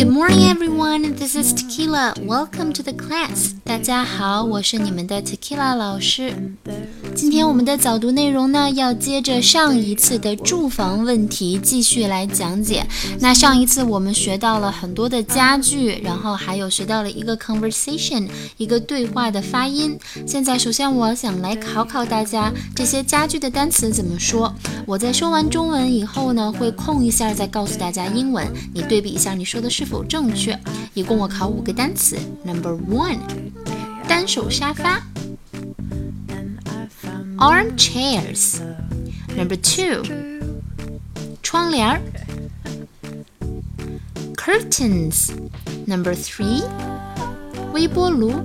Good morning, everyone. This is Tequila. Welcome to the class. 大家好，我是你们的 Tequila 老师。今天我们的早读内容呢，要接着上一次的住房问题继续来讲解。那上一次我们学到了很多的家具，然后还有学到了一个 conversation， 一个对话的发音。现在首先我想来考考大家，这些家具的单词怎么说。我在说完中文以后呢，会空一下再告诉大家英文，你对比一下你说的是否正确。一共我考5个单词。Number 1， 单手沙发 Armchairs. Number 2， 窗帘 Curtains. Number 3， 微波炉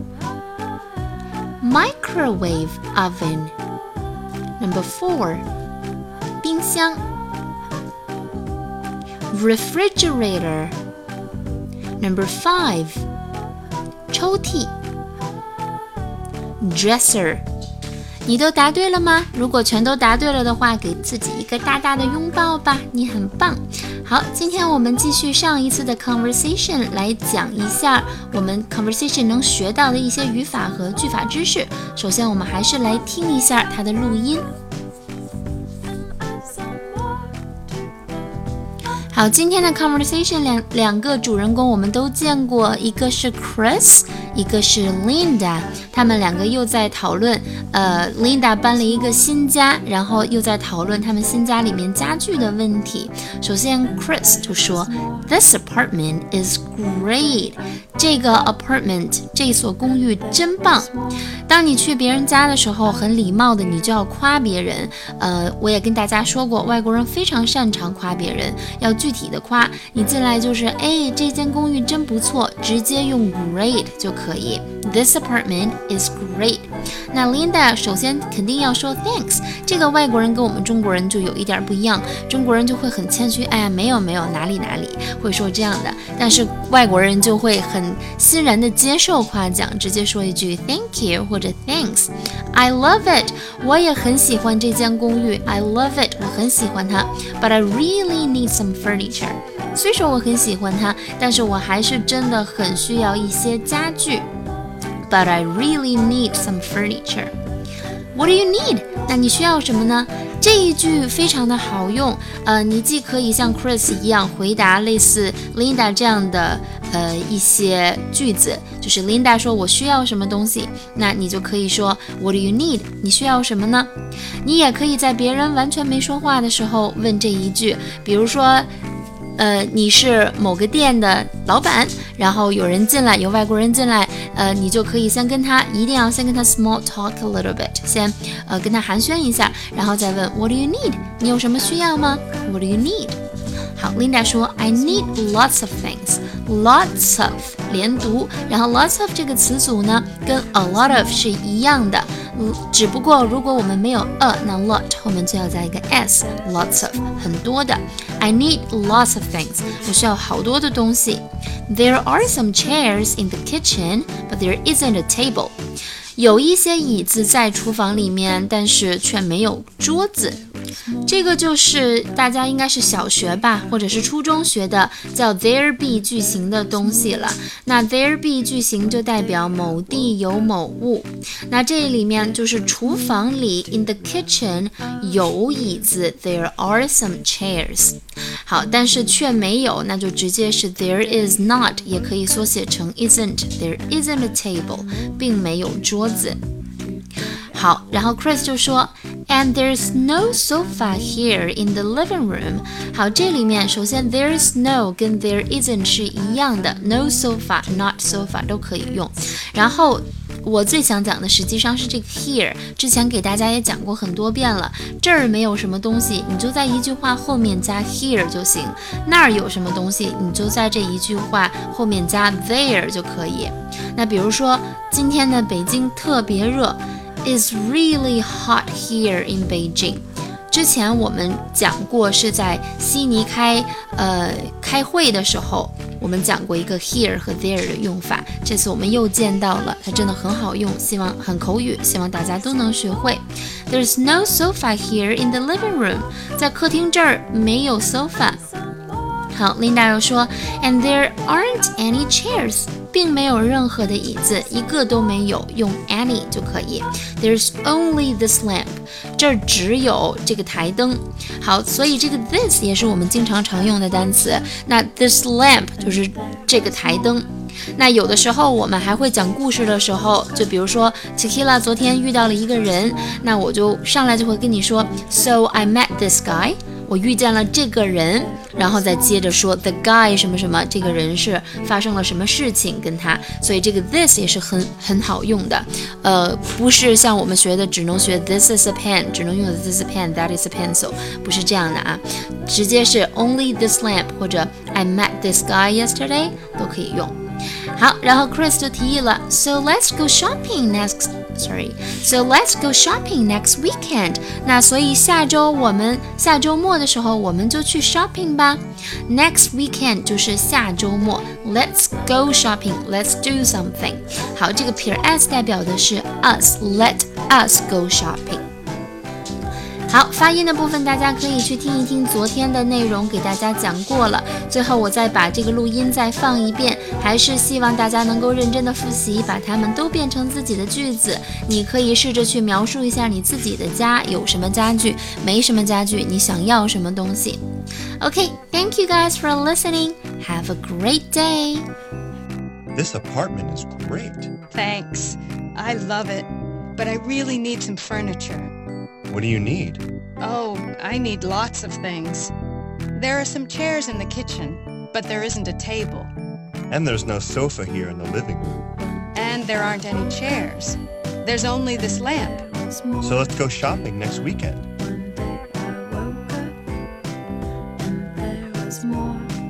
Microwave oven. Number 4， 冰箱 Refrigerator. Number 5， 抽屉 Dresser。 你都答对了吗？如果全都答对了的话，给自己一个大大的拥抱吧，你很棒。好，今天我们继续上一次的 conversation 来讲一下我们 conversation 能学到的一些语法和句法知识。首先我们还是来听一下它的录音。好，今天的 conversation 两个主人公我们都见过，一个是 Chris， 一个是 Linda， 他们两个又在讨论Linda 搬了一个新家，然后又在讨论他们新家里面家具的问题。首先 Chris 就说 This apartment is great， 这个 apartment 这所公寓真棒。当你去别人家的时候，很礼貌的你就要夸别人。我也跟大家说过，外国人非常擅长夸别人，要具体的夸。你进来就是这间公寓真不错，直接用 great 就可以。This apartment is great。 那 Linda 首先肯定要说 thanks， 这个外国人跟我们中国人就有一点不一样，中国人就会很谦虚，没有哪里会说这样的，但是外国人就会很欣然的接受夸奖，直接说一句 thank you 或者 thanks。 I love it， 我也很喜欢这间公寓。 I love it， 我很喜欢它。 But I really need some furniture， 虽说我很喜欢它，但是我还是真的很需要一些家具。 But I really need some furniture。 What do you need？ 那你需要什么呢？这一句非常的好用，你既可以像 Chris 一样回答类似 Linda 这样的一些句子，就是 Linda 说我需要什么东西，那你就可以说 What do you need？ 你需要什么呢？你也可以在别人完全没说话的时候问这一句，比如说你是某个店的老板，然后有人进来，有外国人进来，你就可以一定要先跟他 small talk a little bit， 先跟他寒暄一下，然后再问 What do you need？ 你有什么需要吗？ What do you need？ 好， Linda 说 I need lots of things。 Lots of 连读，然后 lots of 这个词组呢跟 a lot of 是一样的，只不过如果我们没有 a， 那 lot 后面就要加一个 s。 Lots of 很多的。 I need lots of things， 我需要好多的东西。 There are some chairs in the kitchen, but there isn't a table。 有一些椅子在厨房里面，但是却没有桌子。这个就是大家应该是小学吧，或者是初中学的叫 there be 句型的东西了。那 there be 句型就代表某地有某物，那这里面就是厨房里 in the kitchen 有椅子 there are some chairs。 好，但是却没有，那就直接是 there is not， 也可以缩写成 isn't。 There isn't a table， 并没有桌子。好，然后 Chris 就说 And there's no sofa here in the living room。 好，这里面首先 there's no 跟 there isn't 是一样的， no sofa not sofa 都可以用。然后我最想讲的实际上是这个 here， 之前给大家也讲过很多遍了。这儿没有什么东西，你就在一句话后面加 here 就行。那儿有什么东西，你就在这一句话后面加 there 就可以。那比如说今天的北京特别热， It's really hot here in Beijing。 之前我们讲过是在悉尼开会的时候，我们讲过一个 here 和 there 的用法，这次我们又见到了，它真的很好用，希望很口语，希望大家都能学会。There's no sofa here in the living room， 在客厅这儿没有 sofa。 好 ，Linda 又说 ，And there aren't any chairs， 并没有任何的椅子，一个都没有，用 any 就可以。There's only this lamp， 这儿只有这个台灯。好，所以这个 this 也是我们经常常用的单词。那 this lamp 就是这个台灯。那有的时候我们还会讲故事的时候，就比如说 Tequila 昨天遇到了一个人，那我就上来就会跟你说 So I met this guy， 我遇见了这个人，然后再接着说 the guy 什么什么，这个人是发生了什么事情跟他，所以这个 this 也是很好用的。不是像我们学的只能学 this is a pen， 只能用 this is a pen that is a pencil， 不是这样的啊，直接是 only this lamp 或者 I met this guy yesterday 都可以用。好，然后 Chris 就提议了 So let's go shopping next weekend。 那所以下周末的时候我们就去 shopping 吧。 Next weekend 就是下周末。 Let's go shopping， Let's do something。 好，这个撇 s 代表的是 us， Let us go shopping。好，发音的部分大家可以去听一听昨天的内容，给大家讲过了。最后我再把这个录音再放一遍，还是希望大家能够认真的复习，把它们都变成自己的句子。你可以试着去描述一下你自己的家有什么家具，没什么家具，你想要什么东西。Okay, thank you guys for listening. Have a great day. This apartment is great. Thanks. I love it. But I really need some furniture.What do you need? Oh, I need lots of things. There are some chairs in the kitchen, but there isn't a table. And there's no sofa here in the living room. And there aren't any chairs. There's only this lamp. So let's go shopping next weekend.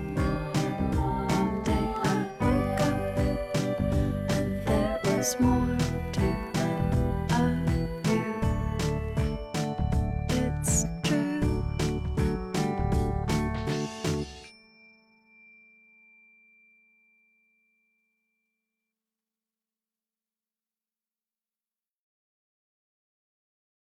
More.